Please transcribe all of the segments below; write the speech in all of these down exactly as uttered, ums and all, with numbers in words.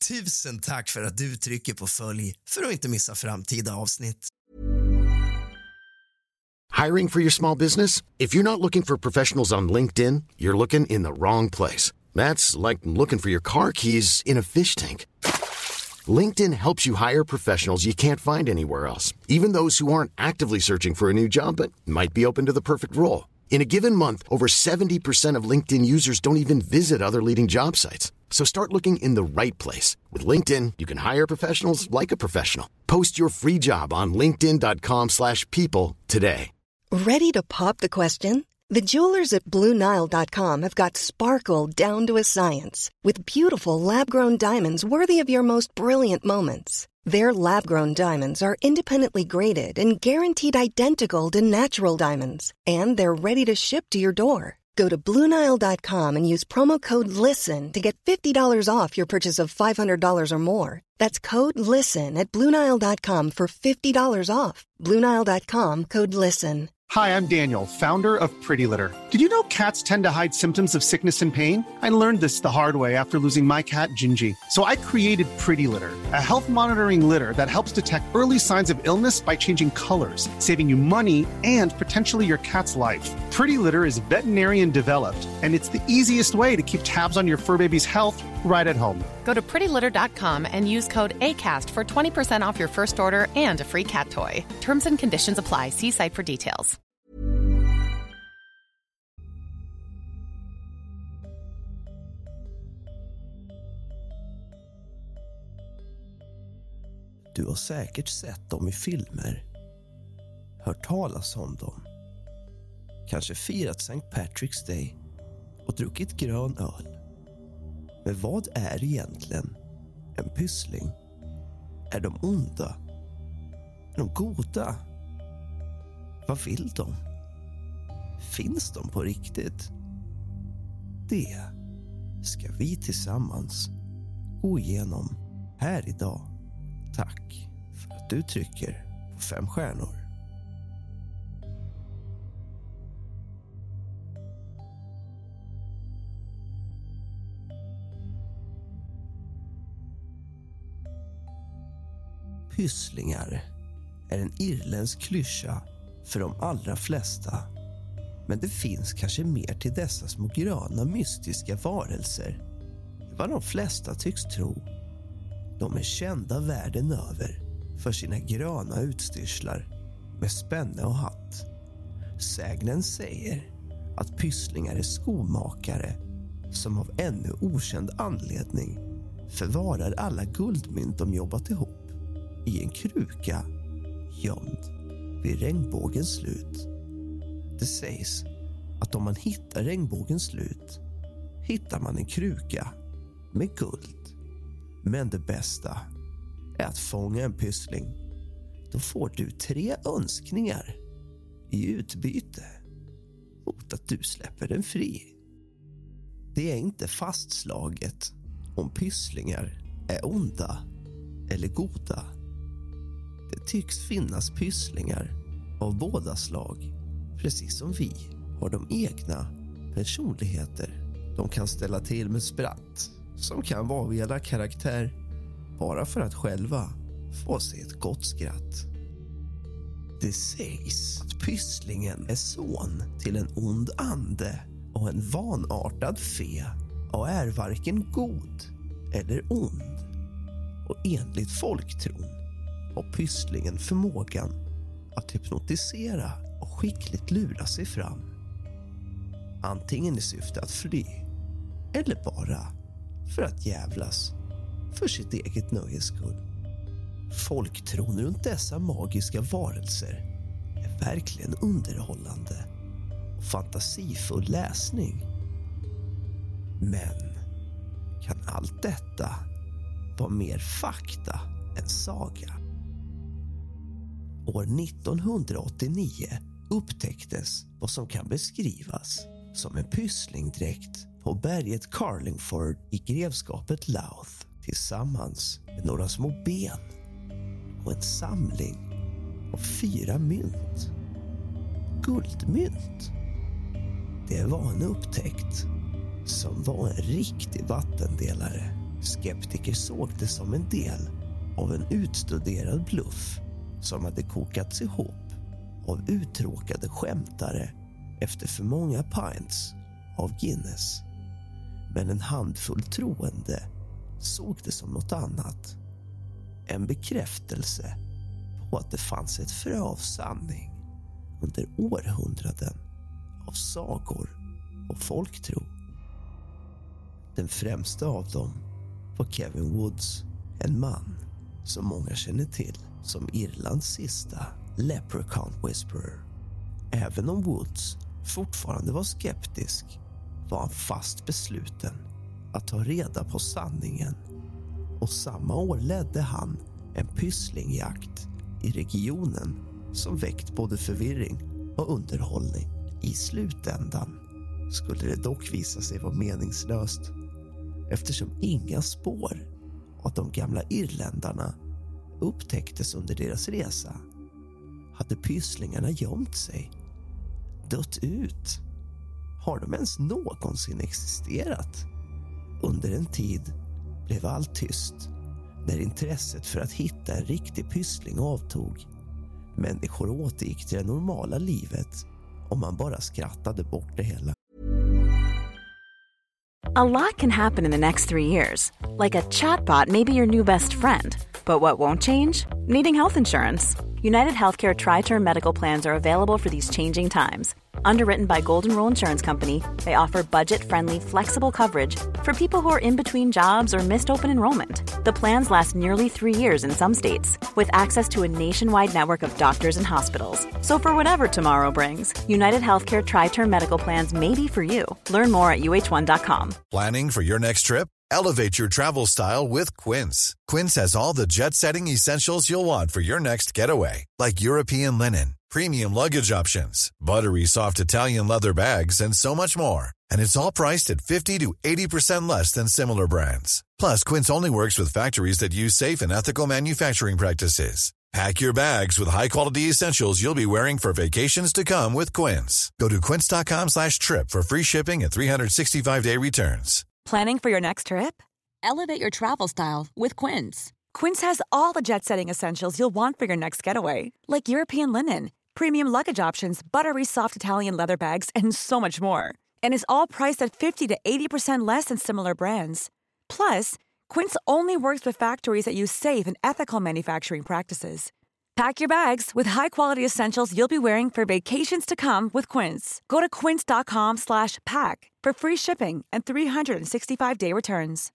Tusen tack för att du trycker på följ för att inte missa framtida avsnitt. Hiring for your small business? If you're not looking for professionals on LinkedIn, you're looking in the wrong place. That's like looking for your car keys in a fish tank. LinkedIn helps you hire professionals you can't find anywhere else, even those who aren't actively searching for a new job but might be open to the perfect role. In a given month, over seventy percent of LinkedIn users don't even visit other leading job sites. So start looking in the right place. With LinkedIn, you can hire professionals like a professional. Post your free job on linkedin dot com slash people today. Ready to pop the question? The jewelers at Blue Nile dot com have got sparkle down to a science with beautiful lab-grown diamonds worthy of your most brilliant moments. Their lab-grown diamonds are independently graded and guaranteed identical to natural diamonds, and they're ready to ship to your door. Go to Blue Nile dot com and use promo code LISTEN to get fifty dollars off your purchase of five hundred dollars or more. That's code LISTEN at Blue Nile dot com for fifty dollars off. Blue Nile dot com, code LISTEN. Hi, I'm Daniel, founder of Pretty Litter. Did you know cats tend to hide symptoms of sickness and pain? I learned this the hard way after losing my cat, Gingy. So I created Pretty Litter, a health monitoring litter that helps detect early signs of illness by changing colors, saving you money and potentially your cat's life. Pretty Litter is veterinarian developed, and it's the easiest way to keep tabs on your fur baby's health right at home. Go to pretty litter dot com and use code ACAST for twenty percent off your first order and a free cat toy. Terms and conditions apply. See site for details. Du har säkert sett dem i filmer, hört talas om dem, kanske firat Sankt Patrick's Day och druckit grön öl. Men vad är egentligen en pyssling? Är de onda? Är de goda? Vad vill de? Finns de på riktigt? Det ska vi tillsammans gå igenom här idag. Tack för att du trycker på fem stjärnor. Pysslingar är en irländsk klyscha för de allra flesta. Men det finns kanske mer till dessa små gröna mystiska varelser än vad de flesta tycks tro. De är kända världen över för sina gröna utstyrslar med spänne och hatt. Sägnen säger att pysslingar är skomakare som av ännu okänd anledning förvarar alla guldmynt de jobbat ihop i en kruka gömd vid regnbågens slut. Det sägs att om man hittar regnbågens slut hittar man en kruka med guld. Men det bästa är att fånga en pyssling. Då får du tre önskningar i utbyte mot att du släpper den fri. Det är inte fastslaget om pysslingar är onda eller goda. Det tycks finnas pysslingar av båda slag. Precis som vi har de egna personligheter. De kan ställa till med spratt som kan vara av hela karaktär bara för att själva få sig ett gott skratt. Det sägs att pysslingen är son till en ond ande och en vanartad fe och är varken god eller ond. Och enligt folktron har pysslingen förmågan att hypnotisera och skickligt lura sig fram. Antingen i syfte att fly eller bara för att jävlas för sitt eget nöjes skull. Folktron runt dessa magiska varelser är verkligen underhållande och fantasifull läsning. Men kan allt detta vara mer fakta än saga? År nittonhundraåttionio upptäcktes vad som kan beskrivas som en pysslingdräkt på berget Carlingford i grevskapet Louth tillsammans med några små ben och en samling av fyra mynt. Guldmynt. Det var en upptäckt som var en riktig vattendelare, Skeptiker såg det som en del av en utstuderad bluff som hade kokats ihop av uttråkade skämtare efter för många pints av Guinness. Men en handfull troende såg det som något annat. En bekräftelse på att det fanns ett frö av sanning under århundraden av sagor och folktro. Den främsta av dem var Kevin Woods, en man som många känner till som Irlands sista Leprechaun Whisperer. Även om Woods fortfarande var skeptisk var han fast besluten att ta reda på sanningen, och samma år ledde han en pysslingjakt i regionen som väckt både förvirring och underhållning. I slutändan skulle det dock visa sig vara meningslöst, eftersom inga spår av de gamla irländarna upptäcktes under deras resa. Hade pysslingarna gömt sig, dött ut? Har de ens någonsin existerat? Under en tid blev allt tyst när intresset för att hitta en riktig pyssling avtog. Människor återgick till det normala livet och man bara skrattade bort det hela. A lot can happen in the next three years. Like a chatbot may be your new best friend. But what won't change? Needing health insurance. United Healthcare Tri-Term Medical Plans are available for these changing times. Underwritten by Golden Rule Insurance Company, they offer budget-friendly, flexible coverage for people who are in between jobs or missed open enrollment. The plans last nearly three years in some states, with access to a nationwide network of doctors and hospitals. So for whatever tomorrow brings, United Healthcare Tri-Term Medical Plans may be for you. Learn more at U H one dot com. Planning for your next trip? Elevate your travel style with Quince. Quince has all the jet-setting essentials you'll want for your next getaway, like European linen, premium luggage options, buttery soft Italian leather bags, and so much more. And it's all priced at fifty to eighty percent less than similar brands. Plus, Quince only works with factories that use safe and ethical manufacturing practices. Pack your bags with high-quality essentials you'll be wearing for vacations to come with Quince. Go to quince.com slash trip for free shipping and three sixty-five day returns. Planning for your next trip? Elevate your travel style with Quince. Quince has all the jet-setting essentials you'll want for your next getaway, like European linen, premium luggage options, buttery soft Italian leather bags, and so much more. And is all priced at fifty to eighty percent less than similar brands. Plus, Quince only works with factories that use safe and ethical manufacturing practices. Pack your bags with high-quality essentials you'll be wearing for vacations to come with Quince. Go to quince.com slash pack for free shipping and three sixty-five day returns.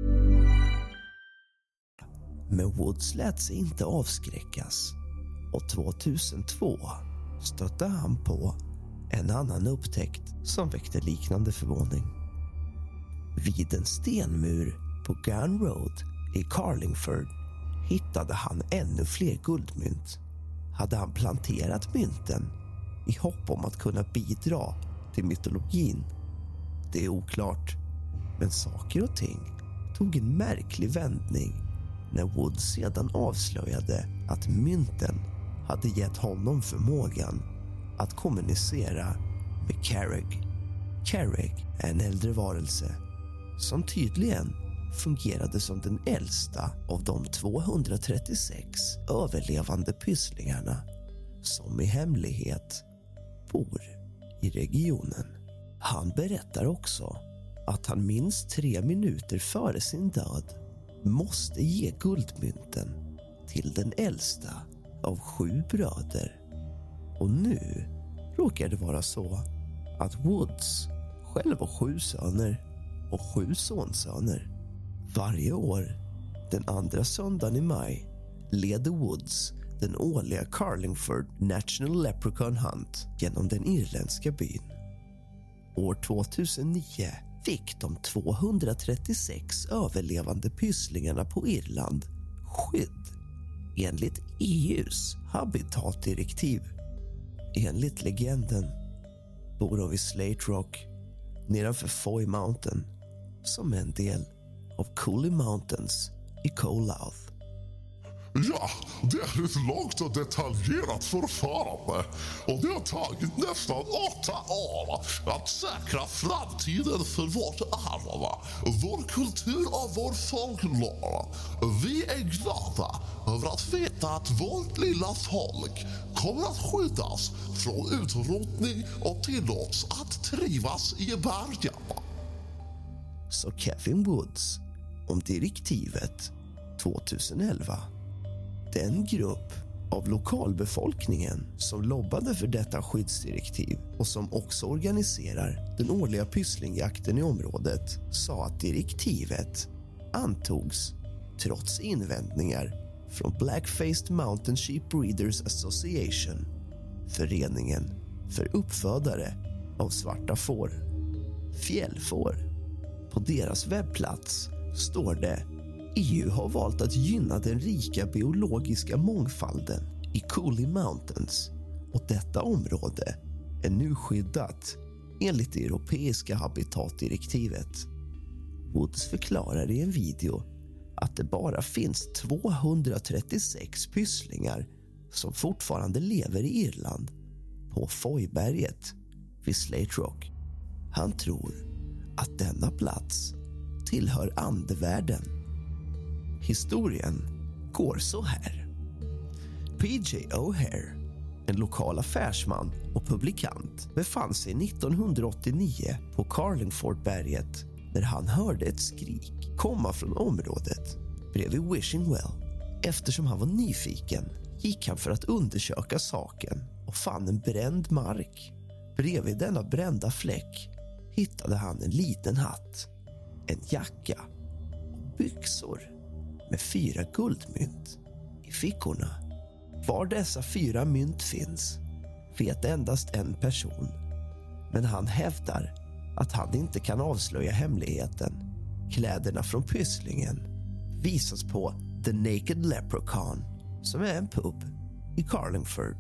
Men Woods lät sig inte avskräckas, och tjugohundratvå stötte han på en annan upptäckt som väckte liknande förvåning. Vid en stenmur på Garn Road i Carlingford hittade han ännu fler guldmynt. Hade han planterat mynten i hopp om att kunna bidra till mytologin? Det är oklart, men saker och ting tog en märklig vändning när Woods sedan avslöjade att mynten hade gett honom förmågan att kommunicera med Carreg. Carreg är en äldre varelse som tydligen fungerade som den äldsta av de tvåhundratrettiosex överlevande pysslingarna som i hemlighet bor i regionen. Han berättar också att han minst tre minuter före sin död måste ge guldmynten till den äldsta av sju bröder. Och nu råkar det vara så att Woods själv har sju söner och sju sonsöner. Varje år, den andra söndagen i maj, leder Woods den årliga Carlingford National Leprechaun Hunt genom den irländska byn. År tvåtusennio fick de tvåhundratrettiosex överlevande pysslingarna på Irland skydd enligt E U:s habitatdirektiv. Enligt legenden bor de vid Slate Rock nedanför Foy Mountain som en del av Cooley Mountains i Colouth. Ja, det är ett långt och detaljerat förfarande och det har tagit nästan åtta år att säkra framtiden för vårt arv, vår kultur och vår folklore. Vi är glada över att veta att vårt lilla folk kommer att skyddas från utrotning och tillåts att trivas i bergen. Så Kevin Woods om direktivet tjugoelva. Den grupp av lokalbefolkningen som lobbade för detta skyddsdirektiv och som också organiserar den årliga pysslingjakten i området sa att direktivet antogs trots invändningar från Black-Faced Mountain Sheep Breeders Association, föreningen för uppfödare av svarta får, fjällfår. På deras webbplats står det: E U har valt att gynna den rika biologiska mångfalden i Cooley Mountains och detta område är nu skyddat enligt det europeiska habitatdirektivet. Woods förklarar i en video att det bara finns tvåhundratrettiosex pysslingar som fortfarande lever i Irland på Foyberget vid Slate Rock. Han tror att denna plats tillhör andevärlden. Historien går så här. P J O'Hare, en lokal affärsman och publikant, befann sig nittonhundraåttionio på Carlingfordberget när han hörde ett skrik komma från området bredvid Wishing Well. Eftersom han var nyfiken gick han för att undersöka saken och fann en bränd mark. Bredvid denna brända fläck hittade han en liten hatt, en jacka och byxor med fyra guldmynt i fickorna. Var dessa fyra mynt finns vet endast en person, men han hävdar att han inte kan avslöja hemligheten. Kläderna från pysslingen visas på The Naked Leprechaun, som är en pub i Carlingford.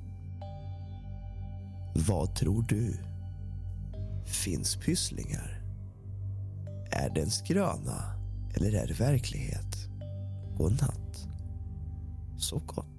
Vad tror du? Finns pysslingar? Är det en skröna eller är det verklighet? God natt. Så gott.